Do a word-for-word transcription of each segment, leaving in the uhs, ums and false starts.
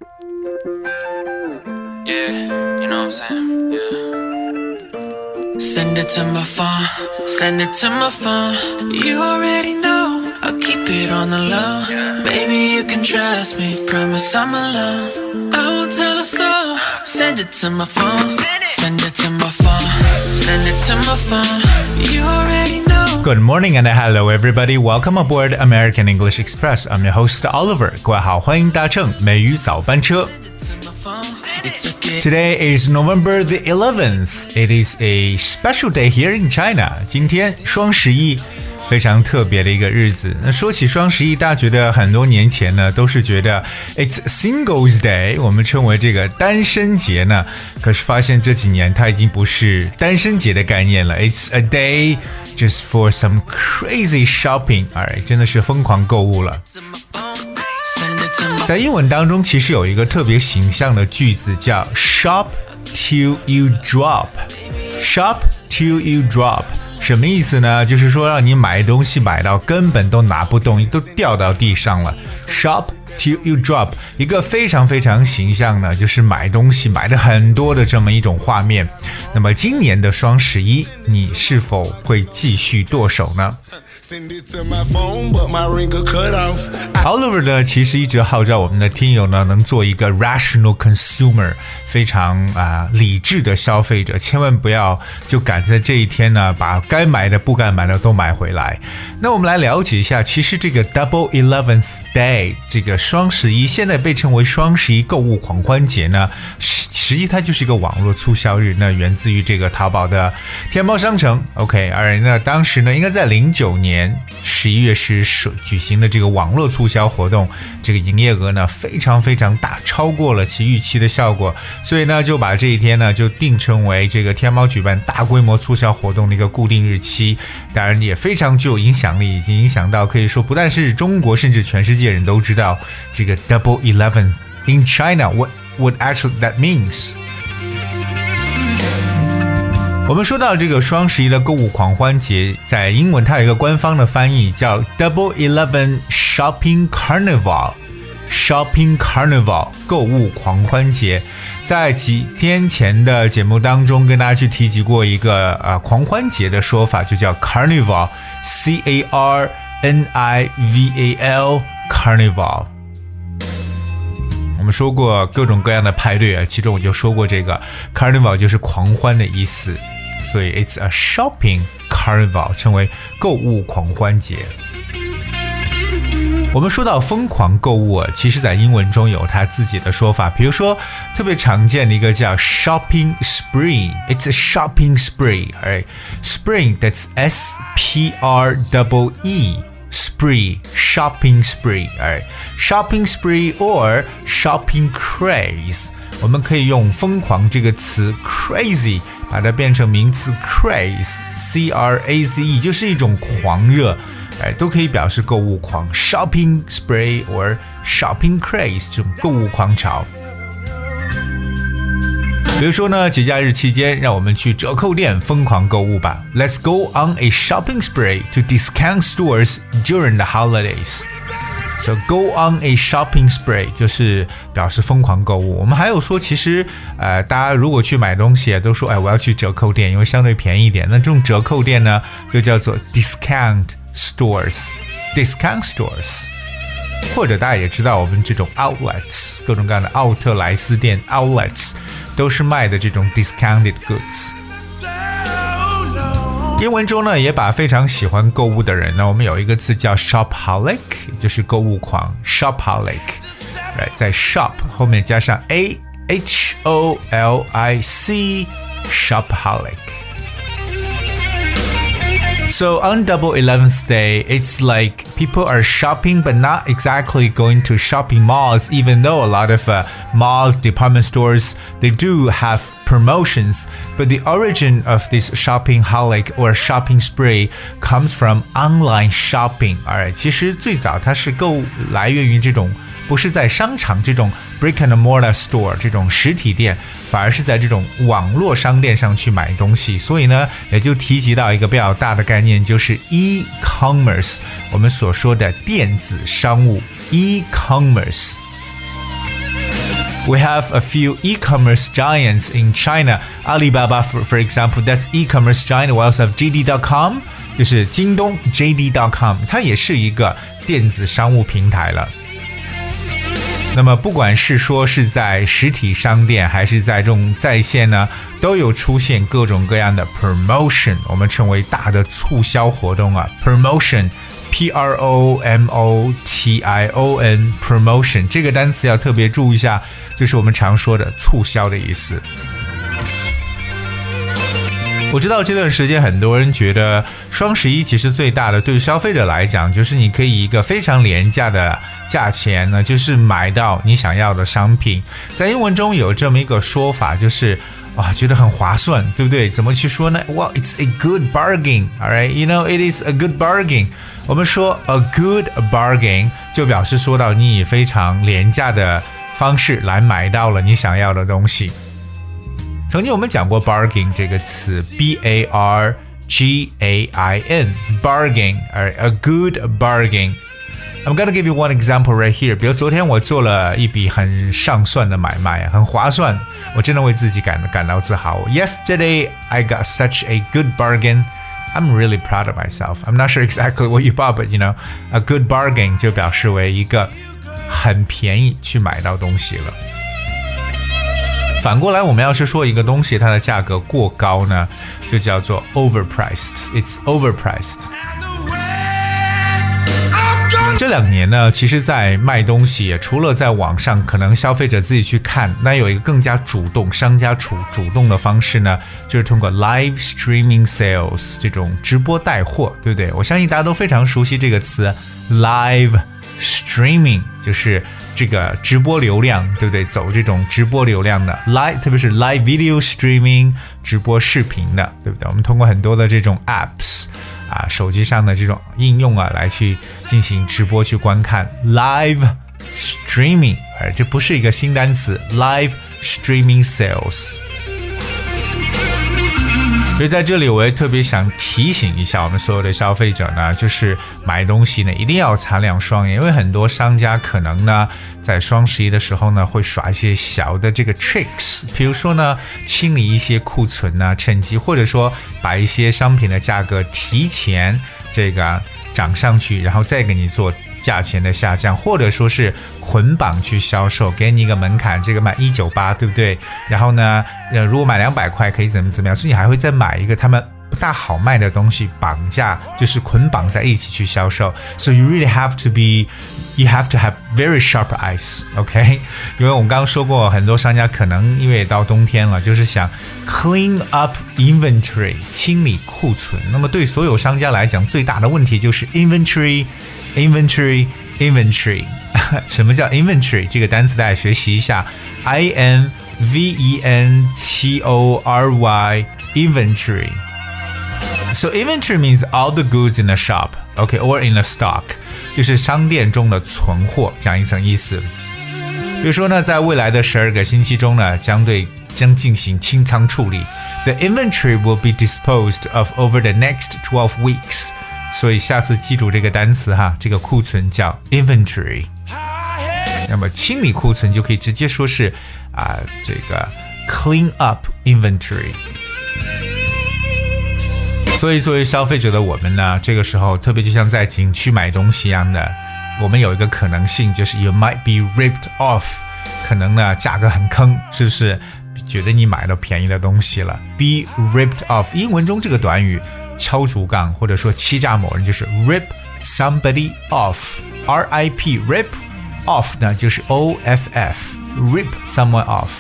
Yeah, you know what I'm saying? Yeah. Send it to my phone, send it to my phone. You already know, I'll keep it on the low. Baby, you can trust me, promise I'm alone. I won't tell a soul. Send it to my phone, send it to my phone, send it to my phone. You already know. Good morning and hello everybody. Welcome aboard American English Express. I'm your host Oliver. 各位好，欢迎搭乘美语早班车。Today is November the eleventh. It is a special day here in China. 今天双十一，非常特别的一个日子。那说起双十一，大家觉得很多年前呢，都是觉得 It's Singles Day， 我们称为这个单身节呢。可是发现这几年它已经不是单身节的概念了。It's a day just for some crazy shopping， 哎，真的是疯狂购物了。在英文当中，其实有一个特别形象的句子叫 shop till you drop。 shop till you drop 什么意思呢？就是说让你买东西买到根本都拿不动，都掉到地上了。 shop till you drop 一个非常非常形象呢，就是买东西买的很多的这么一种画面。那么今年的双十一，你是否会继续剁手呢？Oliver 呢，其实一直号召我们的听友呢，能做一个 rational consumer， 非常啊、呃、理智的消费者，千万不要就赶在这一天呢，把该买的不该买的都买回来。那我们来了解一下，其实这个 Double Eleventh Day， 这个双十一，现在被称为双十一购物狂欢节呢，实际它就是一个网络促销日，那源自于这个淘宝的天猫商城。OK， 而那当时呢，应该在零九年。十一月十举行的这个网络促销活动，这个营业额呢非常非常大，超过了其预期的效果，所以呢就把这一天呢就定成为这个天猫举办大规模促销活动的一个固定日期。当然也非常具有影响力，已经影响到可以说不但是中国，甚至全世界人都知道这个 Double Eleven in China what what actually that means。我们说到这个双十一的购物狂欢节，在英文它有一个官方的翻译叫 Double Eleven Shopping Carnival。 Shopping Carnival 购物狂欢节。在几天前的节目当中跟大家去提及过一个呃狂欢节的说法，就叫 Carnival， C A R N I V A L Carnival。我们说过各种各样的派对啊，其中我就说过这个 Carnival 就是狂欢的意思，所以 It's a shopping carnival， 称为购物狂欢节。我们说到疯狂购物啊，其实在英文中有它自己的说法，比如说特别常见的一个叫 shopping spree。 It's a shopping spree， right? Spree, that's S P R E E Spree, shopping spree, right? Shopping spree or shopping craze， 我们可以用疯狂这个词 crazy 把它变成名词 craze， C R A Z E 就是一种狂热，哎，都可以表示购物狂。 shopping spree or shopping craze 这种购物狂潮。比如说呢，节假日期间，让我们去折扣店疯狂购物吧。 Let's go on a shopping spree to discount stores during the holidays. So go on a shopping spree 就是表示疯狂购物。我们还有说，其实呃，大家如果去买东西都说，哎，我要去折扣店，因为相对便宜一点。那这种折扣店呢，就叫做 discount stores。discount stores。或者大家也知道，我们这种 outlets， 各种各样的奥特莱斯店 outlets 都是卖的这种 discounted goods。 英文中呢，也把非常喜欢购物的人呢，我们有一个词叫 shopaholic， 就是购物狂 shopaholic， right， 在 shop 后面加上 A H O L I C shopaholic。So on Double Eleventh Day, it's like people are shopping but not exactly going to shopping malls, even though a lot of uh, malls, department stores, they do have promotions. But the origin of this shopping holic or shopping spree comes from online shopping. Alright, 其实最早它是购来源于这种不是在商场这种 brick and mortar store 这种实体店，反而是在这种网络商店上去买东西。所以呢，也就提及到一个比较大的概念，就是 e-commerce， 我们所说的电子商务 e-commerce。 We have a few e-commerce giants in China. Alibaba, for, for example, that's e-commerce giant. We also have J D dot com, 就是京东 J D dot com， 它也是一个电子商务平台了。那么不管是说是在实体商店还是在这种在线呢，都有出现各种各样的 promotion， 我们称为大的促销活动啊 promotion P R O M O T I O N promotion 这个单词要特别注意一下，就是我们常说的促销的意思。我知道这段时间很多人觉得双十一其实最大的对消费者来讲，就是你可以以一个非常廉价的价钱呢，就是买到你想要的商品。在英文中有这么一个说法，就是哇，觉得很划算，对不对？怎么去说呢？ Well, it's a good bargain, alright? You know, it is a good bargain. 我们说 a good bargain 就表示说到你以非常廉价的方式来买到了你想要的东西。曾经我们讲过 bargain 这个词 B A R G A I N bargain, a good bargain.I'm gonna give you one example right here. 比如昨天我做了一笔很上算的买卖，很划算，我真的为自己感感到自豪。Yesterday I got such a good bargain. I'm really proud of myself. I'm not sure exactly what you bought, but you know, a good bargain 就表示为一个很便宜去买到东西了。反过来，我们要是说一个东西它的价格过高呢，就叫做 overpriced. It's overpriced.这两年呢，其实在卖东西，除了在网上可能消费者自己去看，那有一个更加主动商家主主动的方式呢，就是通过 live streaming sales 这种直播带货，对不对？我相信大家都非常熟悉这个词 live streaming， 就是这个直播流量，对不对？走这种直播流量的 live， 特别是 live video streaming 直播视频的，对不对？我们通过很多的这种 apps啊，手机上的这种应用啊，来去进行直播去观看 live streaming， 而这不是一个新单词 live streaming sales。所以在这里我也特别想提醒一下我们所有的消费者呢，就是买东西呢一定要擦亮双眼，因为很多商家可能呢在双十一的时候呢会耍一些小的这个 tricks， 比如说呢清理一些库存啊，趁机或者说把一些商品的价格提前这个涨上去，然后再给你做价钱的下降，或者说是捆绑去销售，给你一个门槛，这个买一百九十八，对不对？然后呢，呃，如果买两百块可以怎么怎么样，所以你还会再买一个他们不大好卖的东西，绑架就是捆绑在一起去销售。So you really have to be, you have to have very sharp eyes, OK？ 因为我们刚刚说过，很多商家可能因为到冬天了，就是想 clean up inventory， 清理库存。那么对所有商家来讲，最大的问题就是 inventory。Inventory, inventory 什么叫 inventory 这个单词大家学习一下 I N V E N T O R Y inventory. So inventory means all the goods in a shop, okay, or in a stock. 就是商店中的存货这样一层意思。比如说呢，在未来的十二个星期中呢，将对将进行清仓处理。The inventory will be disposed of over the next twelve weeks.所以下次记住这个单词哈，这个库存叫 inventory。那么清理库存就可以直接说是啊，这个 clean up inventory。所以作为消费者的我们呢，这个时候特别就像在景区买东西一样的，我们有一个可能性就是 you might be ripped off， 可能呢价格很坑，是不是？觉得你买到便宜的东西了 ，be ripped off。英文中这个短语。敲竹杠或者说欺诈某人就是 rip somebody off R I P rip off 呢就是 O F F rip someone off。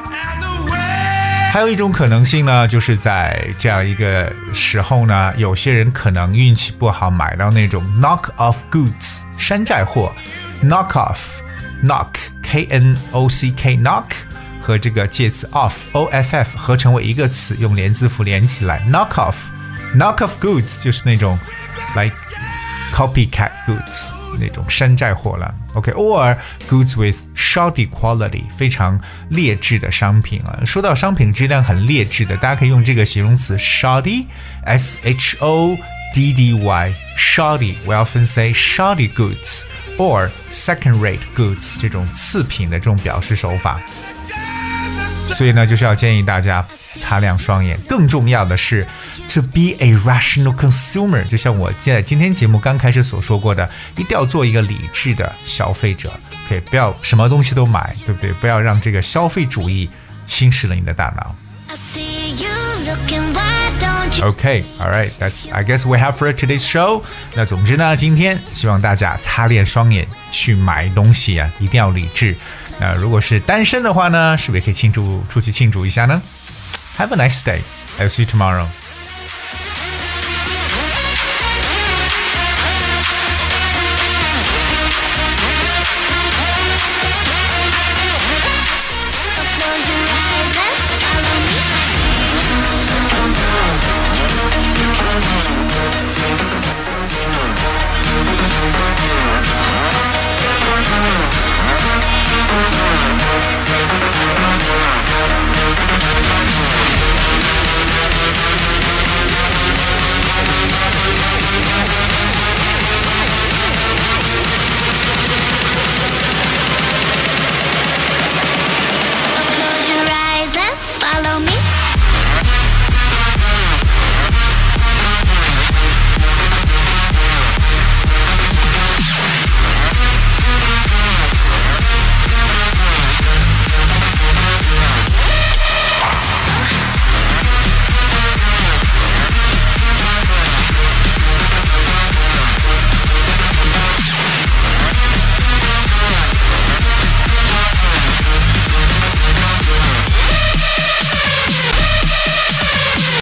还有一种可能性呢，就是在这样一个时候呢，有些人可能运气不好买到那种 knock off goods 山寨货 knock off knock K N O C K knock和这个介词 off O F F 合成为一个词，用连字符连起来 knock off knock off goods 就是那种 like copycat goods 那种山寨货了 OK or goods with shoddy quality 非常劣质的商品啊。说到商品质量很劣质的，大家可以用这个形容词 shoddy S H O D D Y shoddy we often say shoddy goods or second-rate goods 这种次品的这种表示手法。所以呢，就是要建议大家擦亮双眼。更重要的是 to be a rational consumer， 就像我在今天节目刚开始所说过的，一定要做一个理智的消费者。OK， 不要什么东西都买，对不对？不要让这个消费主义侵蚀了你的大脑。Okay, all right, that's I guess we have for today's show. 那总之呢，今天希望大家擦亮双眼去买东西啊，一定要理智。那如果是单身的话呢，是不是也可以庆祝出去庆祝一下呢？Have a nice day. I'll see you tomorrow.